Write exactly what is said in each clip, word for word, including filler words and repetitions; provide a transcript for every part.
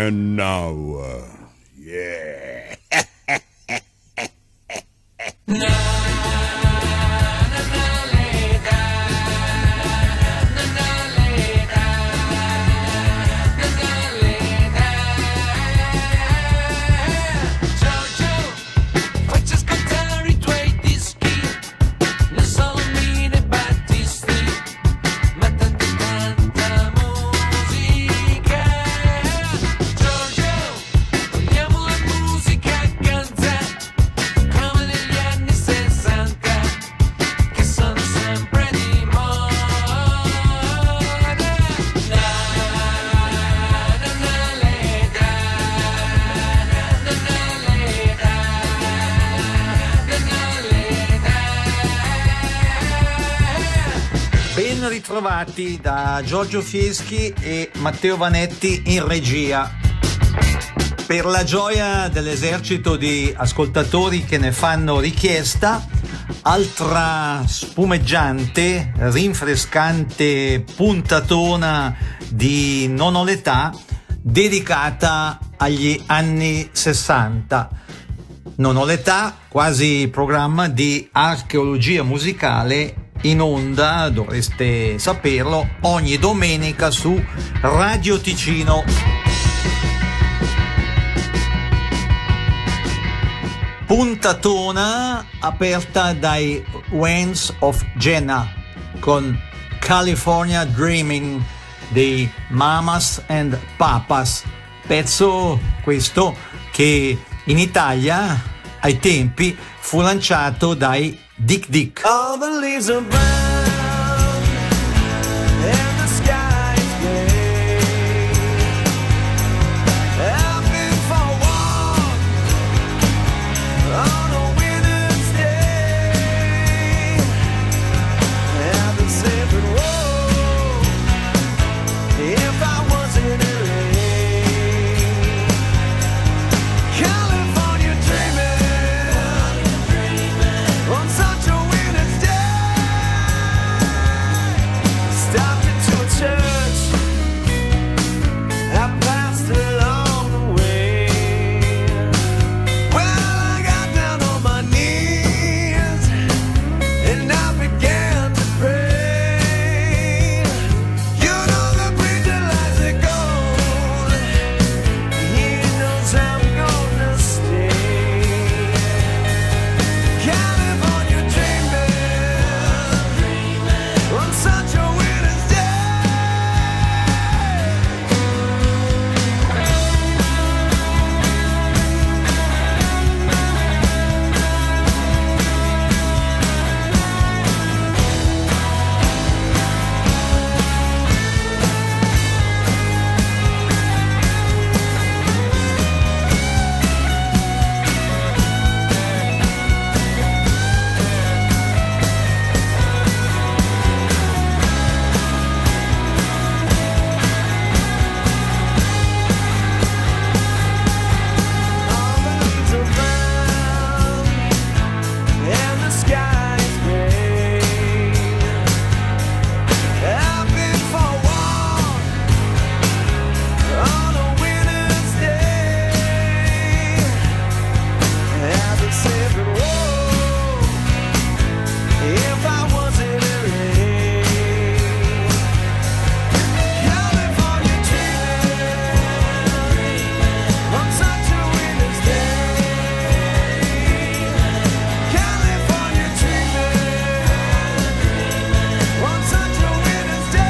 And now, uh, yeah. Ritrovati da Giorgio Fieschi e Matteo Vanetti in regia. Per la gioia dell'esercito di ascoltatori che ne fanno richiesta, altra spumeggiante, rinfrescante puntatona di Non ho l'età dedicata agli anni sessanta. Non ho l'età, quasi programma di archeologia musicale in onda, dovreste saperlo, ogni domenica su Radio Ticino. Puntatona aperta dai Winds of Jenna con California Dreaming dei Mamas and Papas, pezzo questo che in Italia ai tempi fu lanciato dai Dick Dick. All the leaves are brown and the sky is gray. I've been for a walk on a winter's day. I've been saying, whoa, if I wasn't in rain. California dreaming on such a winter's day. Stopped into a church, I passed along the way. Well, I got down on my knees and I began to pray. You know the preacher likes it gold, he knows I'm gonna stay. California dreaming on such a winter's day. All the leaves are brown and the sky is gray. I've been for a walk on a winter's day. I've been saying, whoa, if I wasn't in rain. California dreaming on such a winter's day. California dreaming on such a winter's day.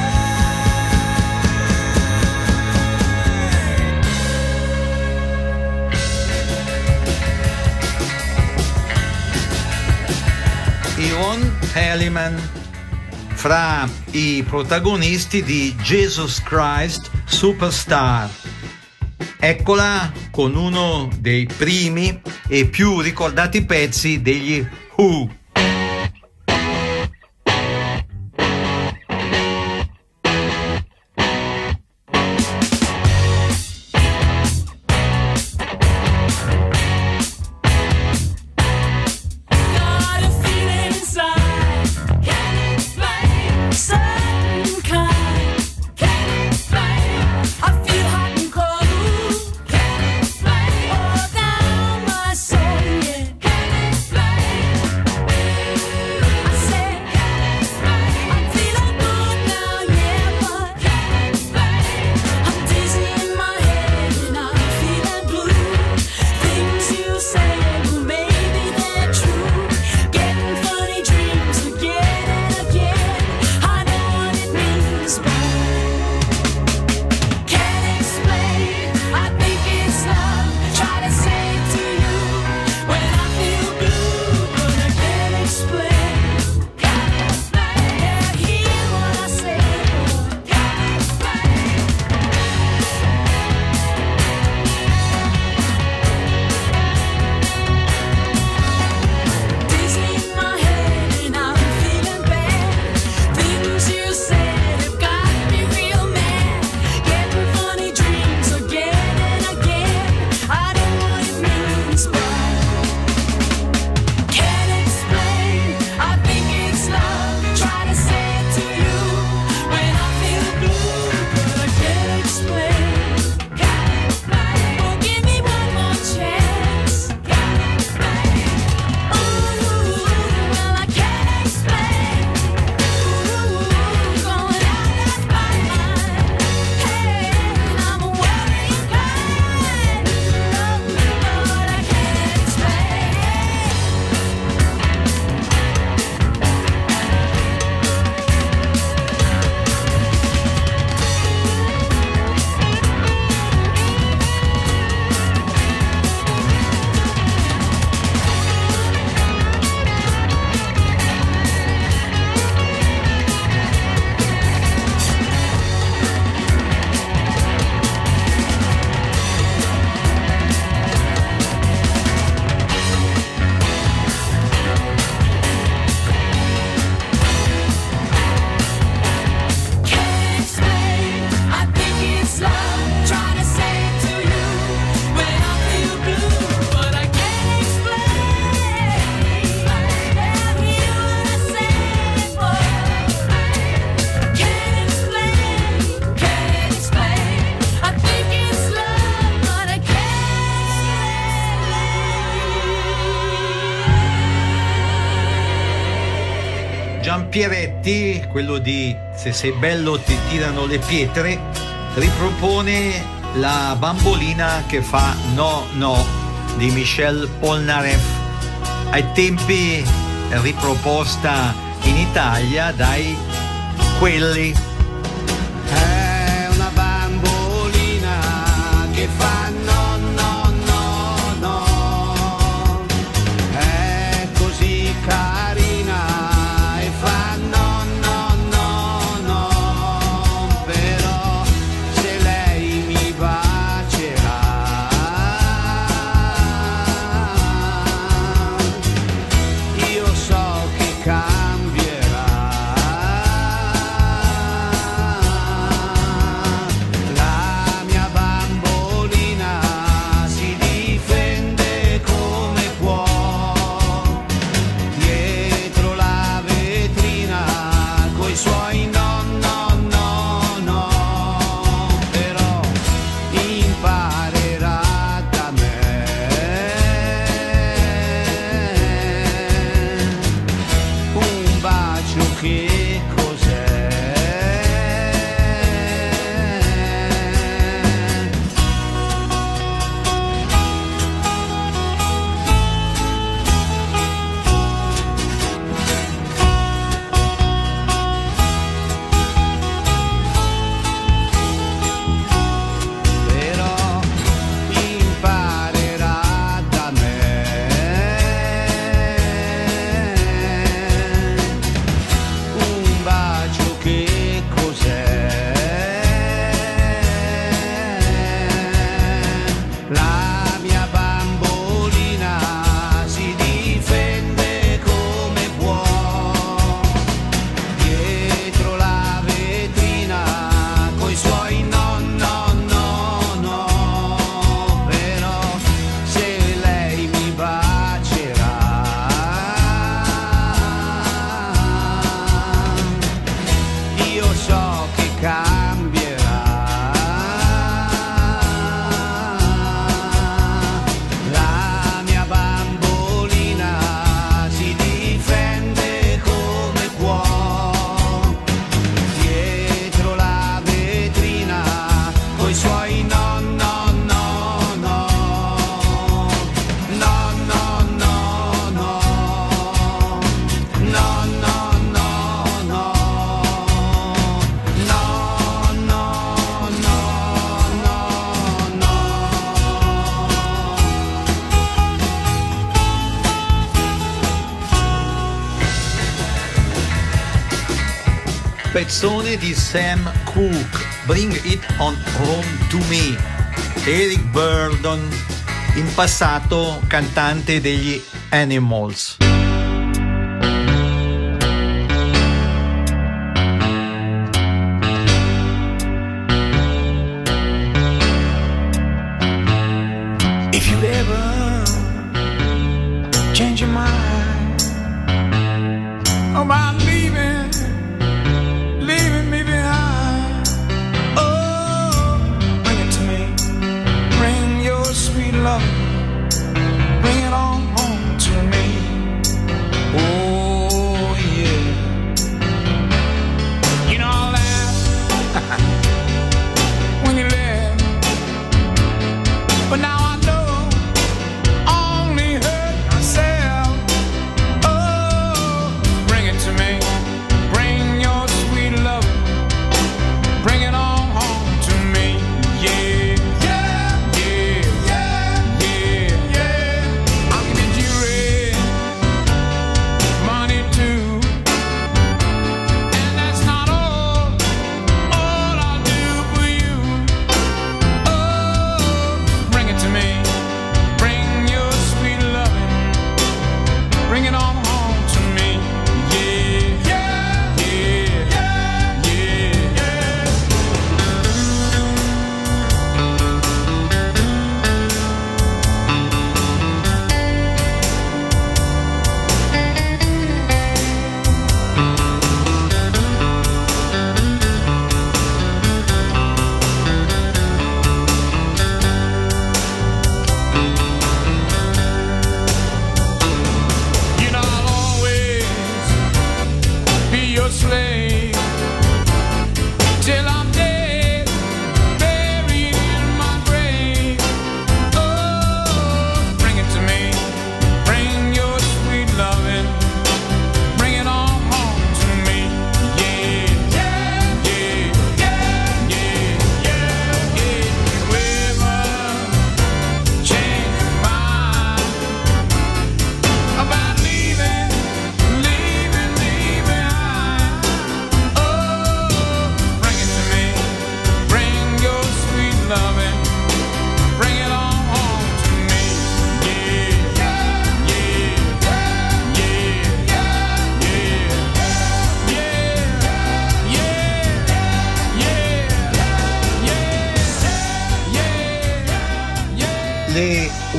Yvonne Elliman, fra i protagonisti di Jesus Christ Superstar. Eccola con uno dei primi e più ricordati pezzi degli Who. Got a feeling inside, can't explain, certain kind, can't explain. I feel hot and cold, Giampieretti, quello di Se sei bello ti tirano le pietre, ripropone la bambolina che fa No No di Michel Polnareff, ai tempi riproposta in Italia dai Quelli. È una bambolina che fa no, no, no, no. È così carina e fa no, no, no, no. Però se lei mi bacerà, io so che cambierà. La mia bambolina si difende come può, dietro la vetrina coi suoi no, no, no, no. Però imparerà da me un bacio che cos'è. Però imparerà da me un bacio che cos'è. La mia bambolina si difende come può, dietro la vetrina coi suoi no, no, no, no. Però se lei mi bacerà, io so che cambierà. La mia bambolina si difende come può, dietro la vetrina coi suoi no, no, no, no. No, no, no, no. No, no, no, no. No, no, no, no, no. Pezzone di Sam Cooke, Bring It On Home To Me. Eric Burdon, in passato cantante degli Animals. If you ever change your mind about leaving, leaving me behind, oh, bring it to me. Bring your sweet love, bring it on home to me.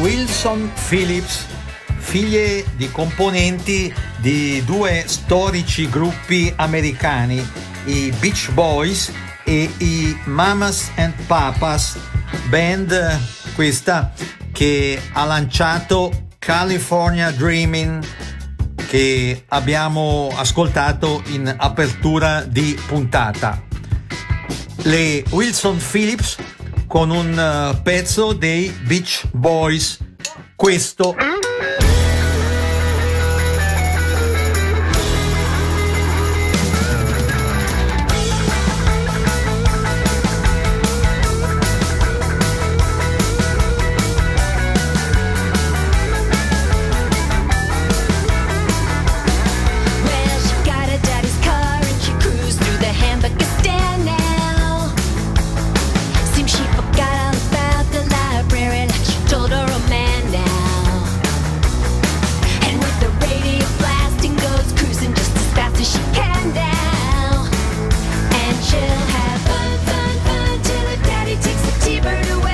Wilson Phillips, figlie di componenti di due storici gruppi americani, i Beach Boys e i Mamas and Papas, band questa che ha lanciato California Dreamin', che abbiamo ascoltato in apertura di puntata. Le Wilson Phillips con un uh, pezzo dei Beach Boys, questo. Well, she got her daddy's car and she cruised through the Hamburgistan now. Seems she forgot all about the library like she told her old man now. And with the radio blasting goes cruising just as fast as she can now. And she'll have fun, fun, fun till her daddy takes the T-bird away.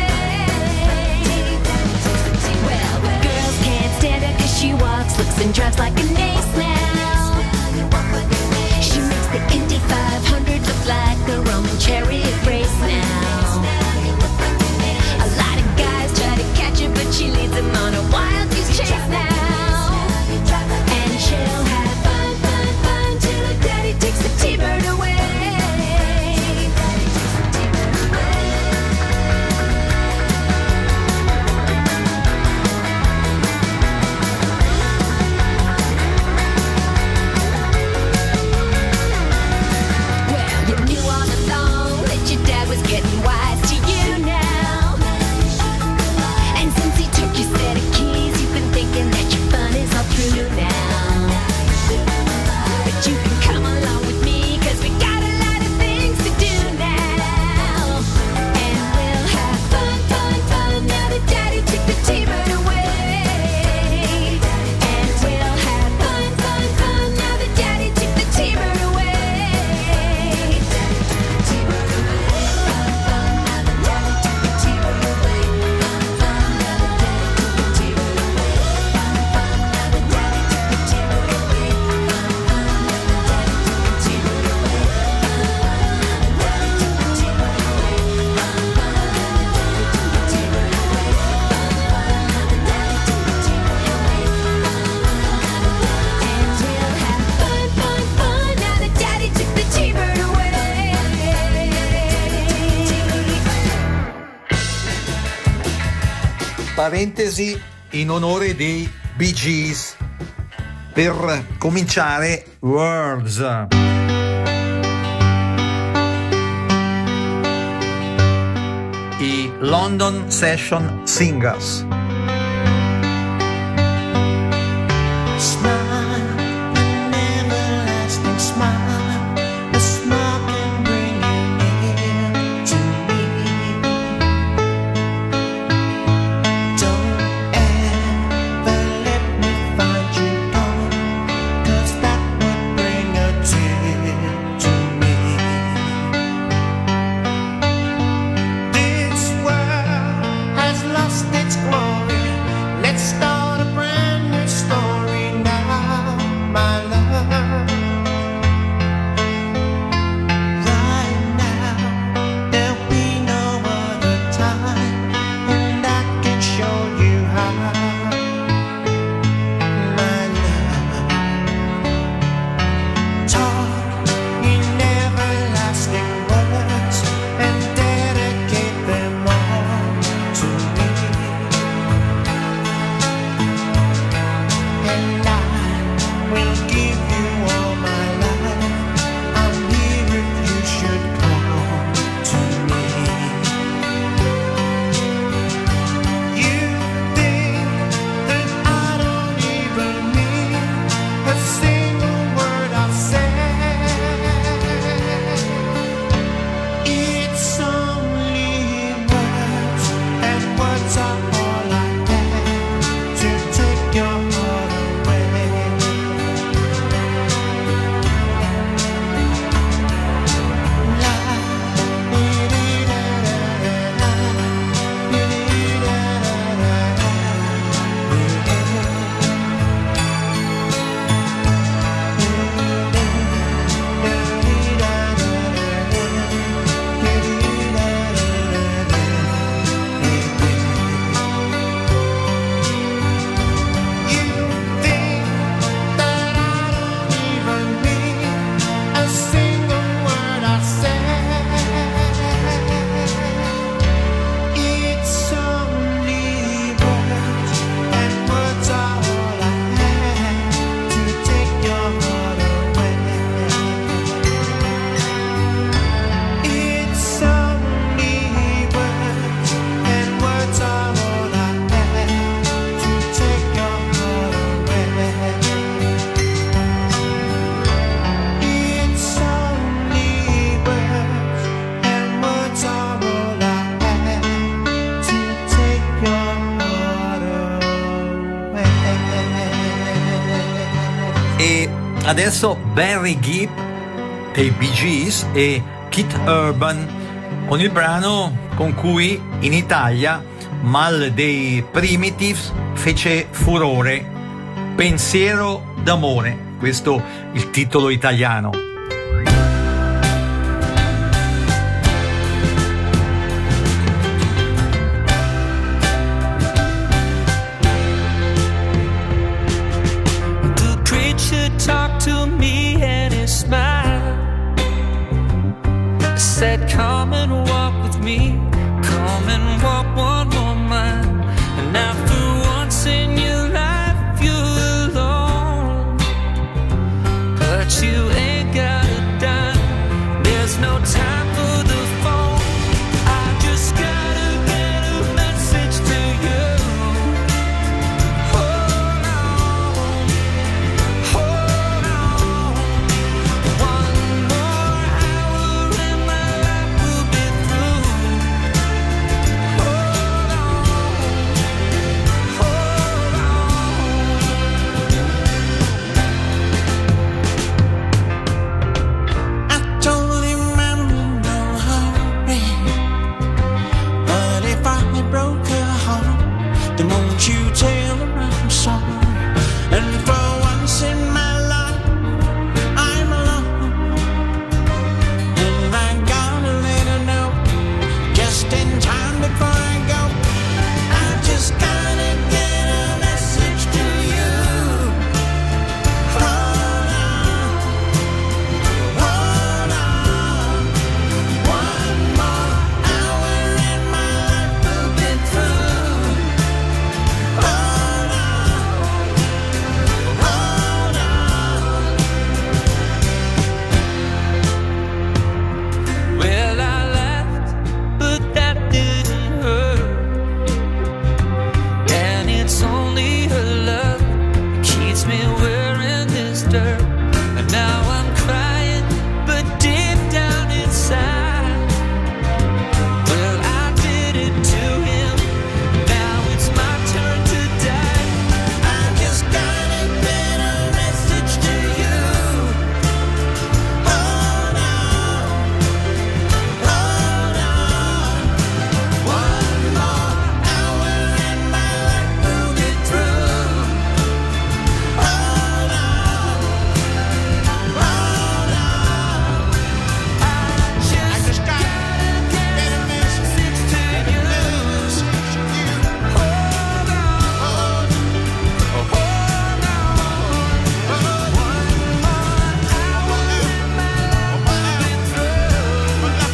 Well, girls can't stand her 'cause she walks, looks and drives like an ace now. She makes the Indy five hundred look like a Roman chariot race now. A lot of guys try to catch her, but she leads them on a wild goose chase now. And she'll have fun, fun, fun till her daddy takes the T-bird away. Well, you knew all along that your dad was getting wise to you now. And since he took your set of keys, you've been thinking that your fun is all through now. But you can come along with me, 'cause we got a lot of things to do now. And we'll have fun, fun, fun now that daddy took the T-bird away. And we'll have fun, fun, fun now that daddy took the T-bird away. And we'll have fun, fun, fun now that daddy took the T-bird away. Parentesi in onore dei Bee Gees. Per cominciare, Words. I London Session Singers. Smile, an everlasting smile. A smile can bring you near to me. Don't ever let me find you gone, 'cause that would bring a tear to me. This world has lost its glory. E adesso Barry Gibb dei Bee Gees e Keith Urban con il brano con cui in Italia Mal dei Primitives fece furore, Pensiero d'amore, questo il titolo italiano. The preacher talked to me and he smiled, said come and walk with me, come and walk one more mile. And now for once in your life you're alone, but you ain't got a dime, there's no time for the phone. I just gotta get a message to you. Hold on, hold on, one more hour and my life will be through. Hold on, hold on. I told him I'm in no hurry, but if I broke her heart, then won't you tell her I'm sorry? And for once in my life, I'm alone, and I gotta let her know, just in time before I go. I just gotta get a message to you. Hold on, hold on, one more hour and my life will be through. Hold on, hold on. Well, I laughed, but that didn't hurt. And it's only her love that keeps me wearing this dirt. And now I'm crying, but deep down inside, well, I did it to him. Now it's my turn to die. I just gotta get a message to you. Hold on, hold on, one more hour and my life will be through. Hold on, hold on. I just gotta get a message to you. Hold on, hold on, one more hour and my life will be through. Hold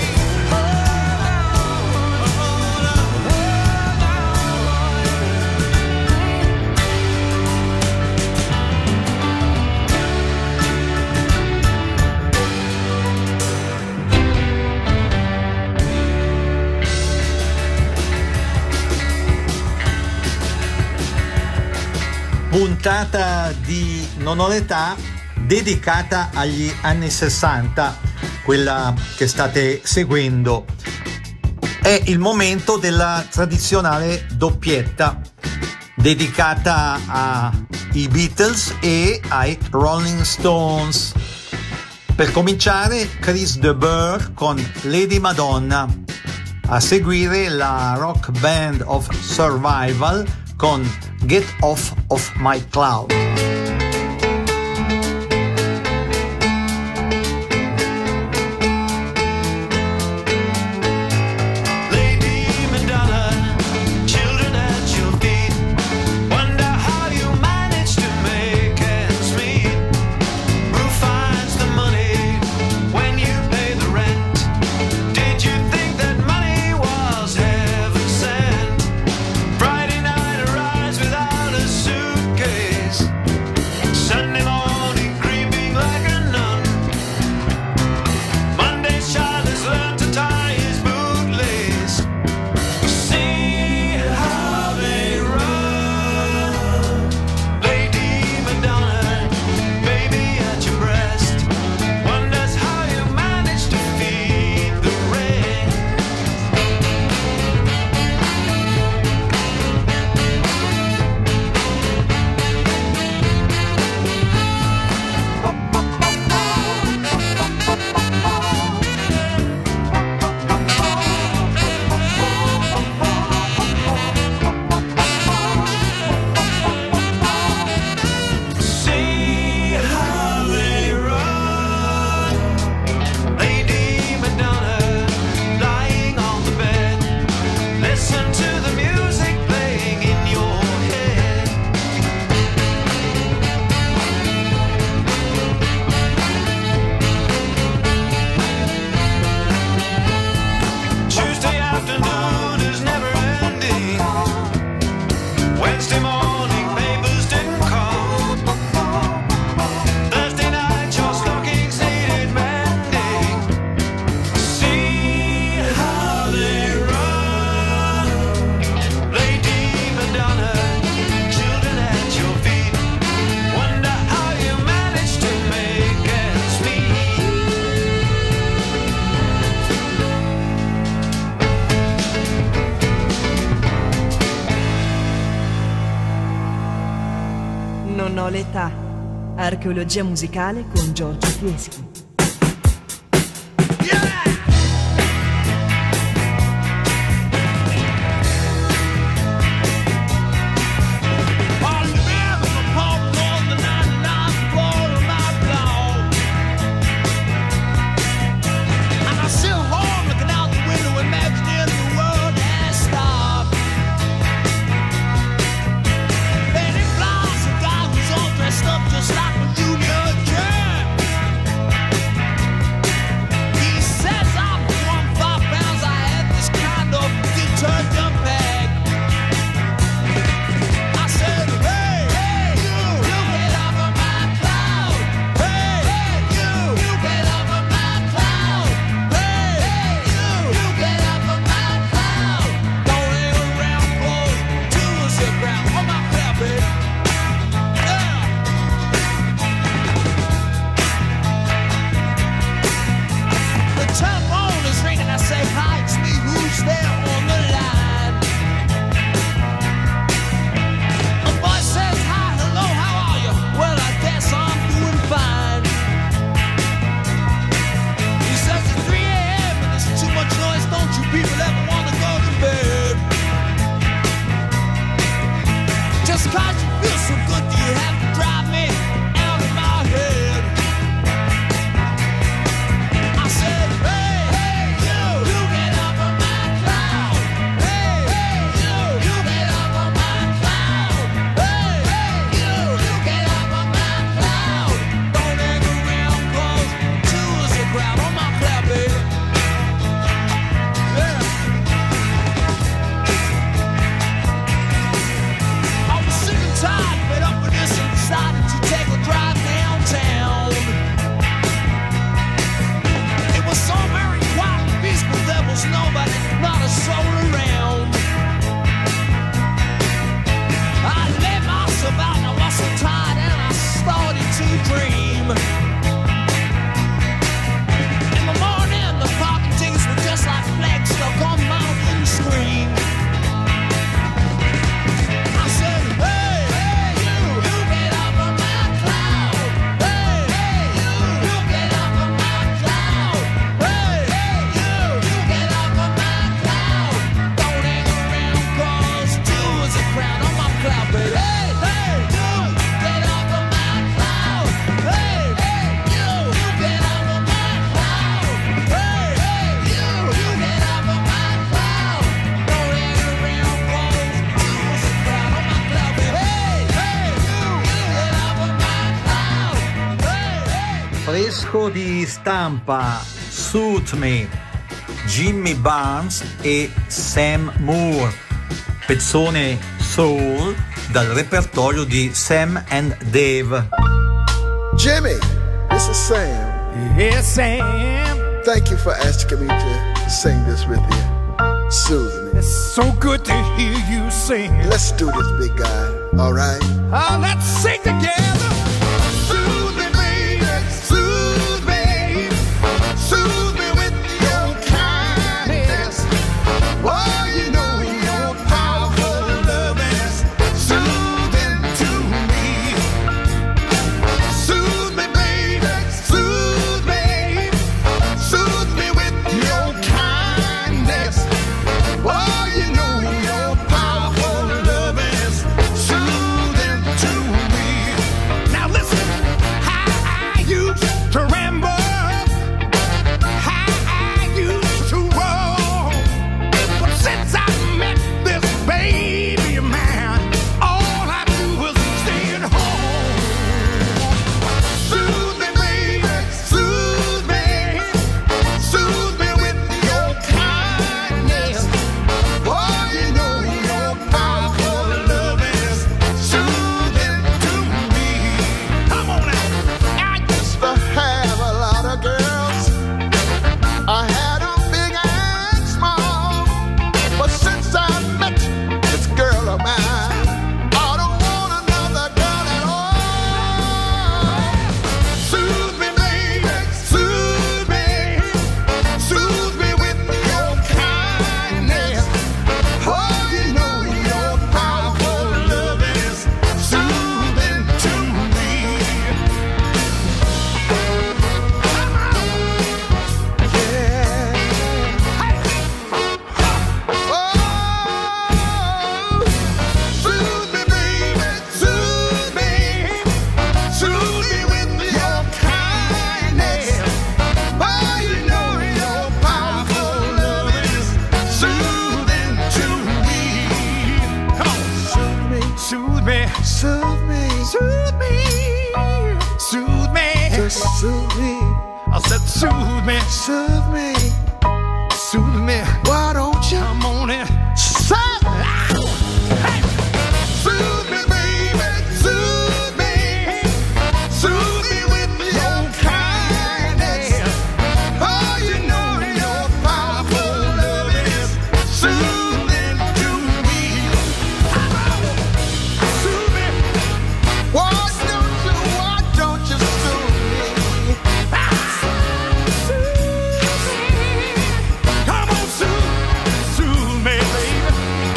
Puntata di Non ho l'età dedicata agli anni sessanta, quella che state seguendo. È il momento della tradizionale doppietta dedicata ai Beatles e ai Rolling Stones. Per cominciare, Chris de Burgh con Lady Madonna, a seguire la rock band of Survival con Get Off of My Cloud. Lady Madonna, children at your feet, wonder how you manage to make ends meet. Who finds the money when you pay the rent? Did you think that money was heaven sent? Friday night arrives without a suitcase. non ho l'età. Archeologia musicale con Giorgio Fieschi. Just like a Union Jack. fresco di stampa Suit Me, Jimmy Barnes e Sam Moore, pezzone soul dal repertorio di Sam and Dave. Jimmy, this is Sam. Yes, Sam. Thank you for asking me to sing this with you. Susan. It's so good to hear you sing. Let's do this, big guy. All right? Oh, let's sing together. Soothe me, baby. Soothe me. Soothe me with your kindness. Oh, you know your powerful love is soothing to me. Soothe me, baby. Soothe me. Soothe me with your kindness. Oh, you know your powerful love is soothing to me. soothe me, soothe me, Just soothe me, I said soothe me, soothe me. soothe me. Why don't you Come on in, say? hey, soothe me, baby, soothe me, soothe me with your kindness. Oh, you know your powerful love is soothing to me. Soothe me. Why don't you, why don't you soothe me? Come on, soothe, soothe me, baby.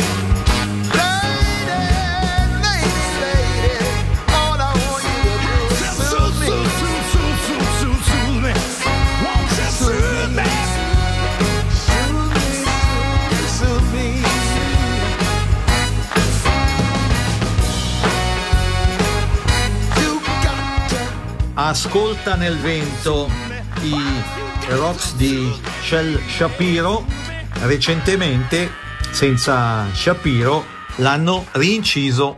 Lady, lady, lady, all I want you to do is soothe me. Soothe, soothe, soothe, soothe, soothe me. Won't you soothe me? Soothe me, soothe me. You got to Ascolta nel vento i rocks di Shel Shapiro. Recentemente, senza Shapiro, l'hanno rinciso.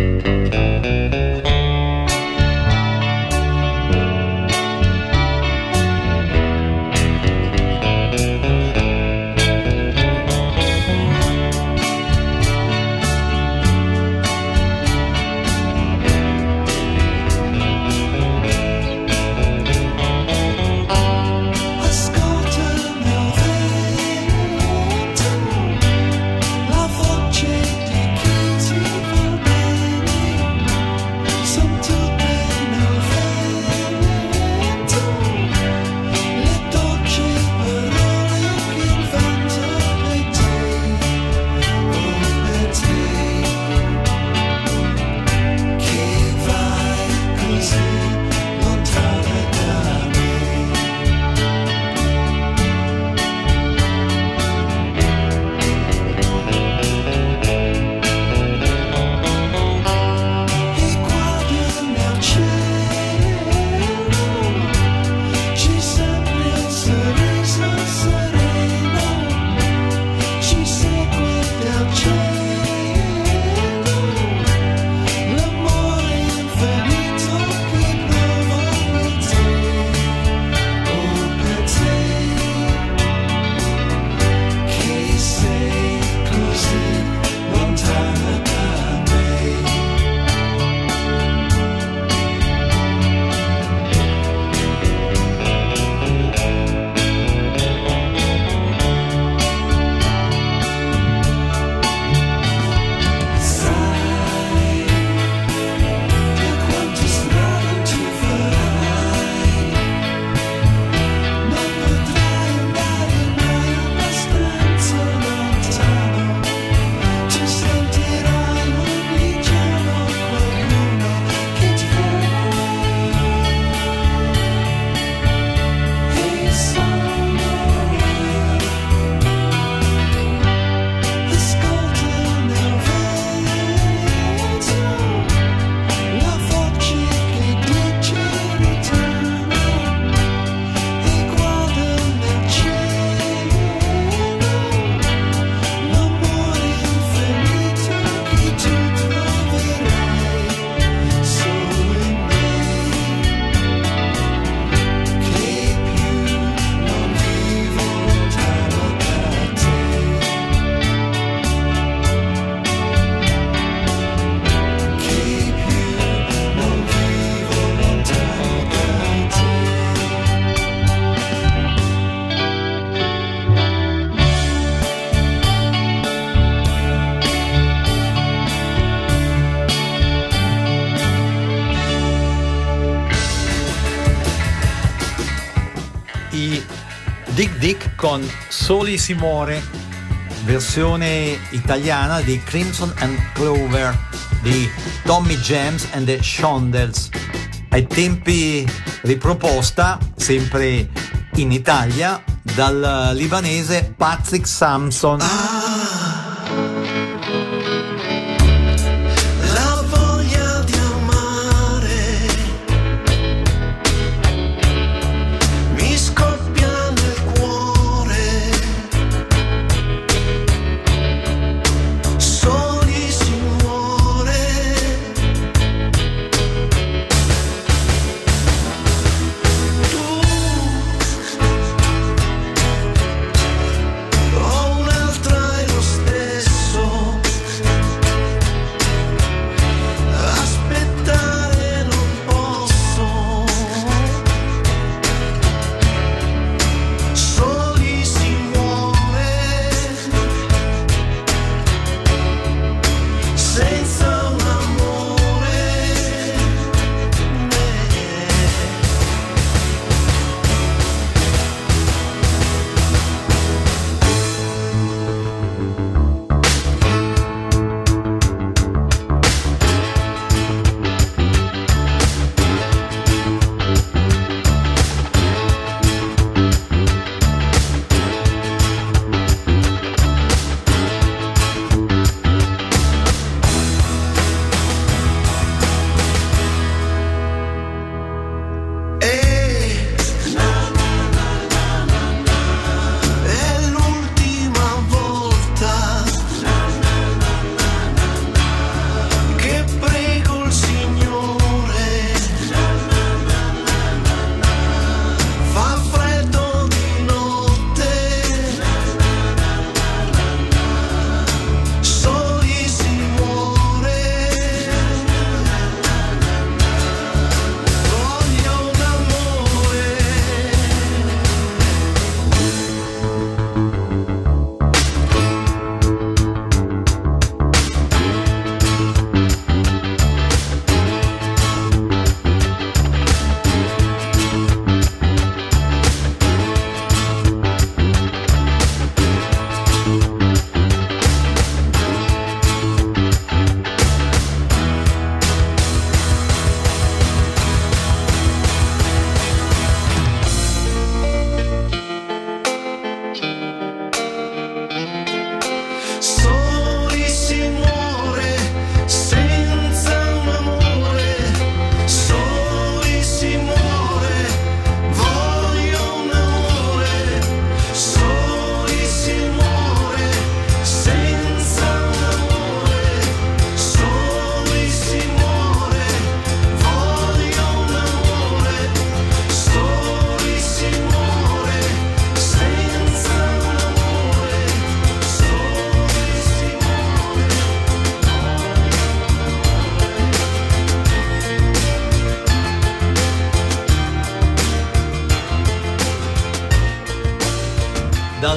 Ascolta il mio vento, la voce di chi ti va bene, son tutte nel vento, le dolci parole che il vento per te, oh per te, che vai così lontana da me. E guarda nel cielo, ci sembra il sorriso sereno, ci segue dal cielo, l'amore infinito che provo per te, oh per te, che sei così lontana da me. Sai da quante strade tu farai, non potrai andare mai abbastanza lontano, ci sentirai ogni giorno qualcuno che ti ama, e sono io. Ascolta nel vento, la voce che dice ritorna, e guarda nel cielo, l'amore infinito che tu troverai solo in me, che più non vivo lontano da te. Che più non vivo lontano da te. I Dick Dick con Soli si muore, versione italiana di Crimson and Clover di Tommy James and the Shondells, ai tempi riproposta sempre in Italia dal libanese Patrick Sampson. La voglia di amare mi scoppia nel cuore, soli si muore,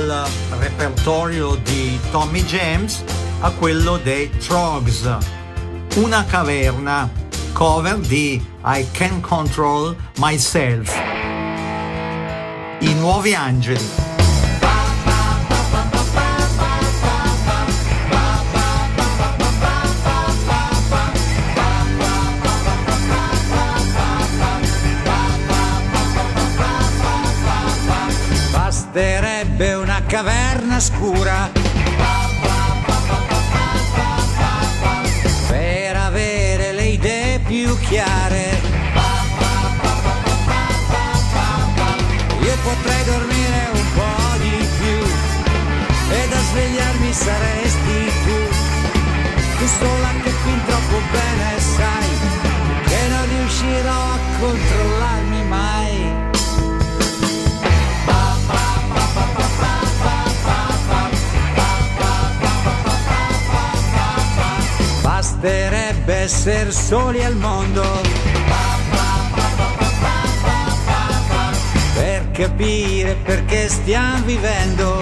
dal repertorio di Tommy James a quello dei Troggs, Una caverna, cover di I Can't Control Myself, I Nuovi Angeli. Basterebbe una caverna scura per avere le idee più chiare. Io potrei dormire un po' di più e da svegliarmi saresti tu. Tu sola che fin troppo bene sai che non riuscirò a controllarmi mai. Basterebbe essere soli al mondo per capire perché stiamo vivendo.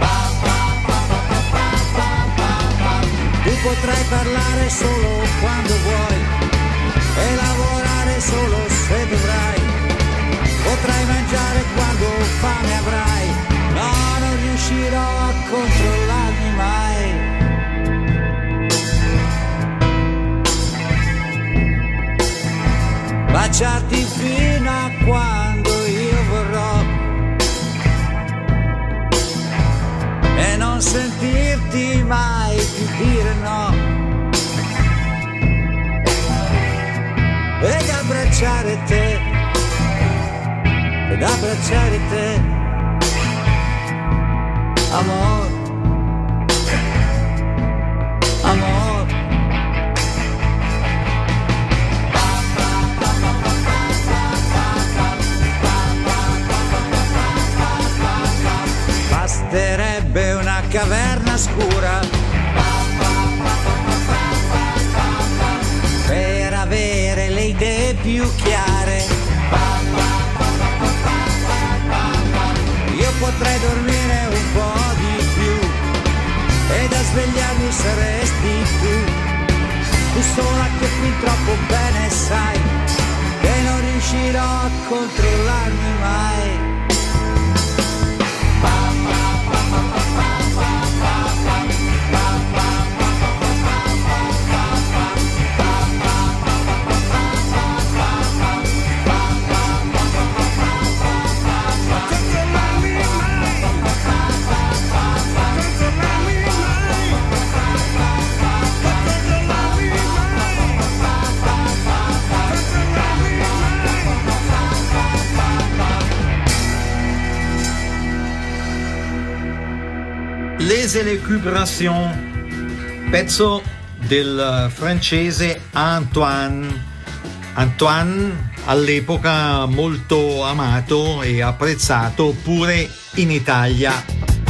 Tu potrai parlare solo quando vuoi e lavorare solo se dovrai. Potrai mangiare quando fame avrai. No, non riuscirò a controllarmi mai. Baciarti fino a quando io vorrò e non sentirti mai più dire no, ed abbracciare te, ed abbracciare te, amor, amor. Basterebbe una caverna scura per avere le idee più chiare. Io potrei dormire un po' di più e da svegliarmi saresti tu. Tu sola che fin troppo bene sai che non riuscirò a controllarmi mai. Les Élucubrations, pezzo del francese Antoine. Antoine all'epoca molto amato e apprezzato pure in Italia.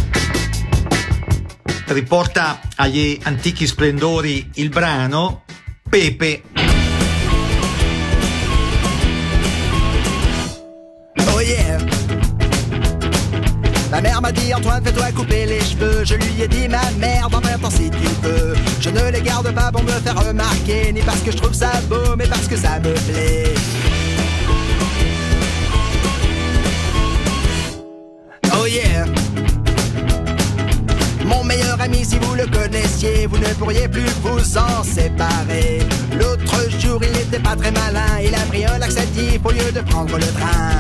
Riporta agli antichi splendori il brano Pepe. Oh yeah. Ma mère m'a dit Antoine, fais-toi couper les cheveux. Je lui ai dit ma merde en même temps si tu peux. Je ne les garde pas pour me faire remarquer, ni parce que je trouve ça beau, mais parce que ça me plaît. Oh yeah. Mon meilleur ami, si vous le connaissiez, vous ne pourriez plus vous en séparer. L'autre jour, il n'était pas très malin, il a pris un laxatif au lieu de prendre le train.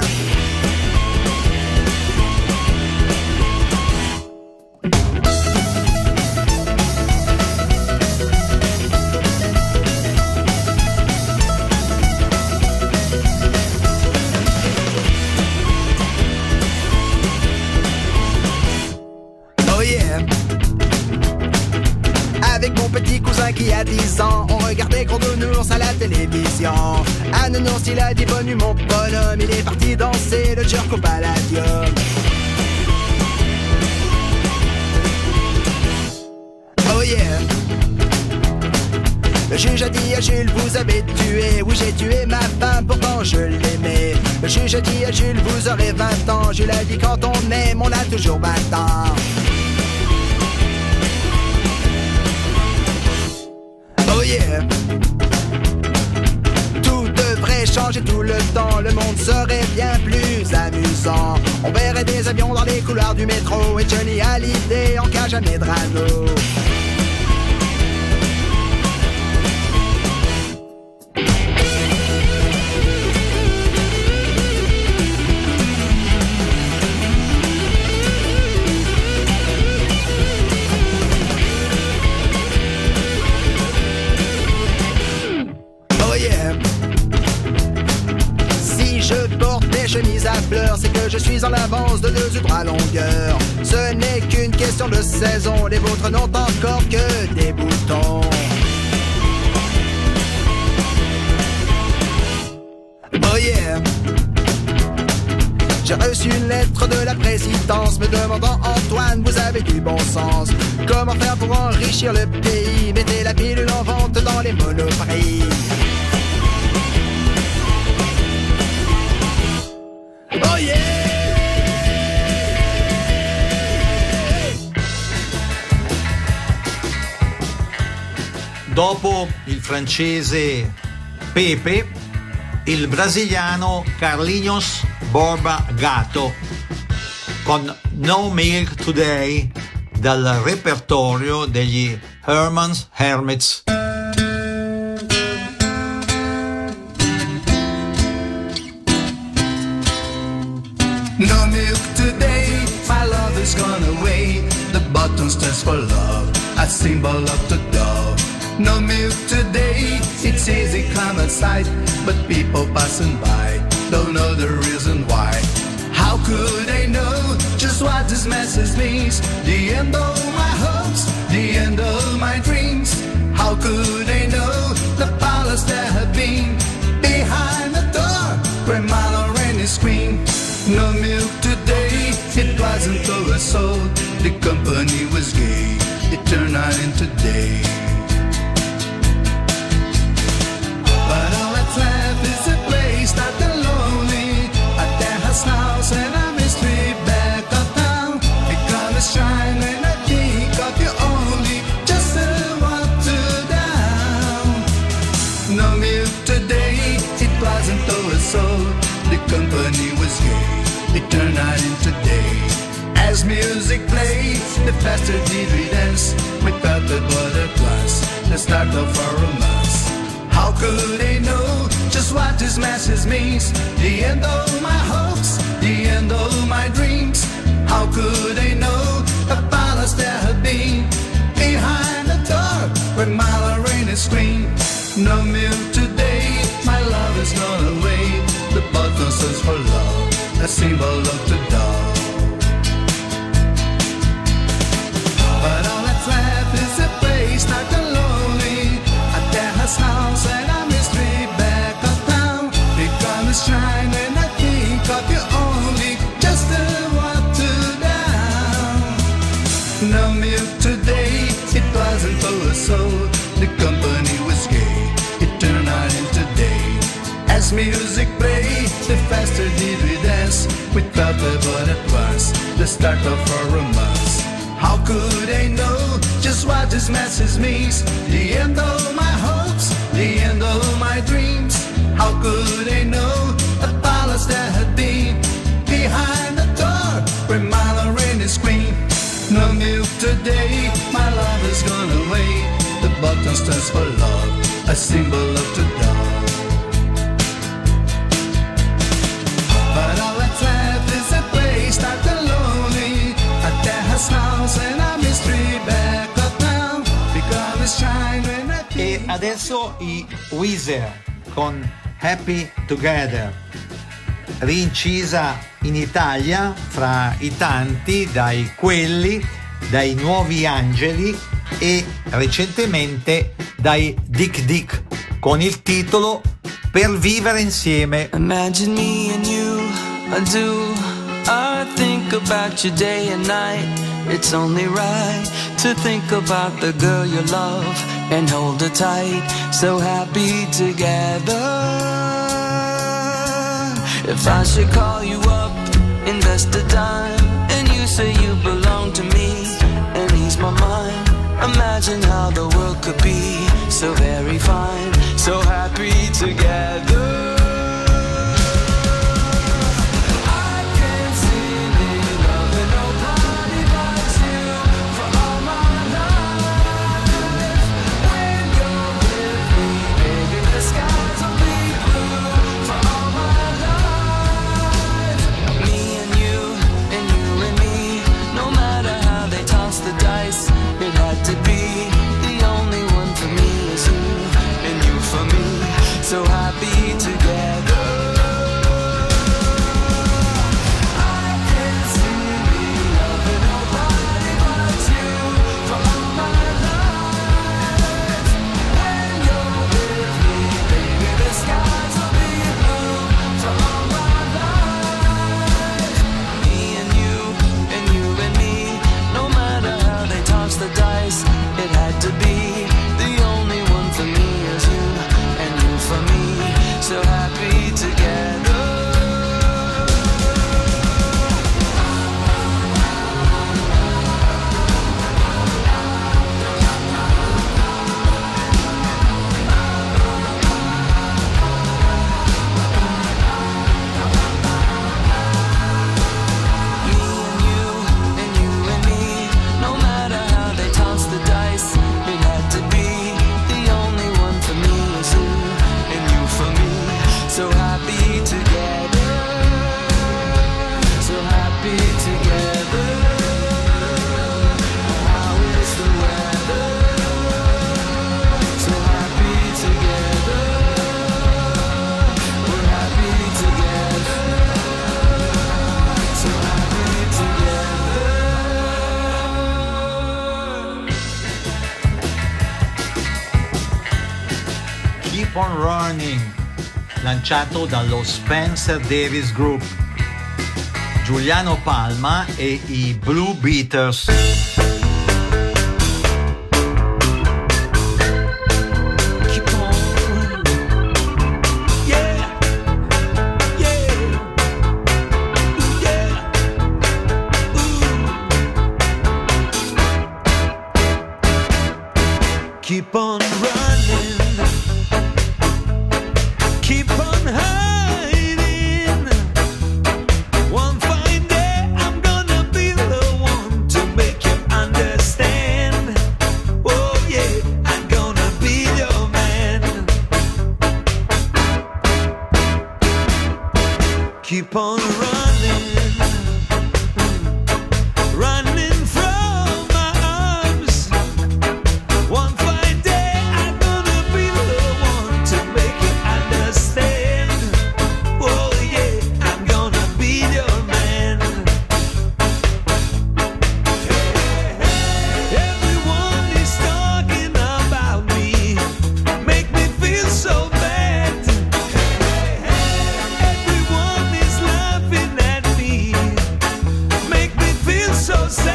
Qui a dix ans, on regardait Gros Nounours à la télévision. Un nounours, il a dit bonne nuit mon bonhomme, il est parti danser le jerk au Palladium. Oh yeah. Le juge a dit à Jules, vous avez tué. Oui, j'ai tué ma femme, pourtant je l'aimais. Le juge dit à Jules, vous aurez vingt ans. Jules a dit, quand on aime, on a toujours vingt ans. Oh yeah. Tout devrait changer tout le temps, le monde serait bien plus amusant. On verrait des avions dans les couloirs du métro, et Johnny Hallyday en cage à Medrano. Chemise à fleurs, c'est que je suis en avance de deux ou trois longueurs. Ce n'est qu'une question de saison, les vôtres n'ont encore que des boutons. Oh yeah. J'ai reçu une lettre de la présidence me demandant, Antoine, vous avez du bon sens. Comment faire pour enrichir le pays? Mettez la pilule en vente dans les monoprix. Oh yeah! Dopo il francese Pepe, il brasiliano Carlinhos Borba Gato con No Milk Today dal repertorio degli Herman's Hermits. No milk today, my love is gone away. The button stands for love, a symbol of the dove. No milk today, it's easy come outside, but people passing by don't know the reason why. How could they know just what this message means? The end of my hopes, the end of my dreams. How could they know the palace that had been behind the door where my Lorraine screamed? No milk today, it wasn't oversold. The company was gay, it turned night into day. But all that's left is a place not that lonely, a terrace house and a mystery back of town. It comes shine when I think of you only, just a walk to down. No milk today, it wasn't oversold. The company was gay, it turned night into day. As music played, the faster did we dance. We felt the butterflies, the start of our romance. How could they know just what this message means? The end of my hopes, the end of my dreams. How could they know a palace that had been behind the door where my Lorraine screamed? No milk today, my love is gone away. The button stands for love, a symbol of the dove. But all that's left is a place not that lonely, a terrace house and a mystery back of town. It comes shine when I think of you only, just a walk to down. No milk today, it wasn't oversold. The company was gay, it turned night into day. As music played, the faster did we dance. We felt it, but it was the start of our romance. How could they know just what this message means? The end of my hopes, the end of my dreams. How could they know a palace that had been behind the door where my Lorraine screamed? No milk today, my love has gone away. The button stands for love, a symbol of the dove. But all that's left is a place not that lonely, a terrace house and a mystery back of town. Because shine when I E adesso i Weezer con Happy Together, rincisa in Italia fra i tanti, dai Quelli, dai Nuovi Angeli e recentemente dai Dick Dick, con il titolo Per vivere insieme. Imagine me and you, I do. I think about you day and night. It's only right to think about the girl you love and hold her tight. So happy together. If I should call you up, invest a dime, and you say you belong to me, and ease my mind. Imagine how the world could be so very fine, so happy together. So happy together. I can't see me loving nobody but you for all my life. When you're with me, baby, the skies will be blue for all my life. Me and you, and you and me, no matter how they toss the dice, it had to be. The only one for me is you, and you for me, so happy together. So happy together, so happy together. How is the weather? So happy together. We're happy together. So happy together. Keep on Running, lanciato dallo Spencer Davis Group, Giuliano Palma e i Blue Beaters. Keep on running, keep on hiding. One fine day I'm gonna be the one to make you understand. Oh yeah, I'm gonna be your man. Keep on running, running from my arms. One fine day I'm gonna be the one to make you understand. Oh yeah, I'm gonna be your man. Everyone is talking about me, make me feel so bad. Everyone is laughing at me, make me feel so sad.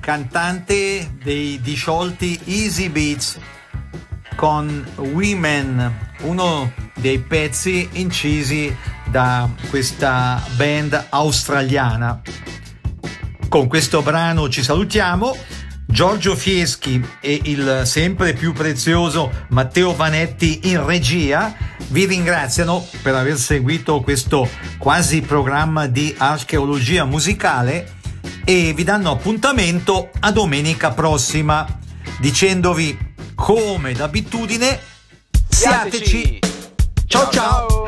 cantante dei disciolti Easy Beats con Women, uno dei pezzi incisi da questa band australiana. Con questo brano ci salutiamo. Giorgio Fieschi e il sempre più prezioso Matteo Vanetti in regia vi ringraziano per aver seguito questo quasi programma di archeologia musicale e vi danno appuntamento a domenica prossima, dicendovi come d'abitudine siateci. Ciao ciao.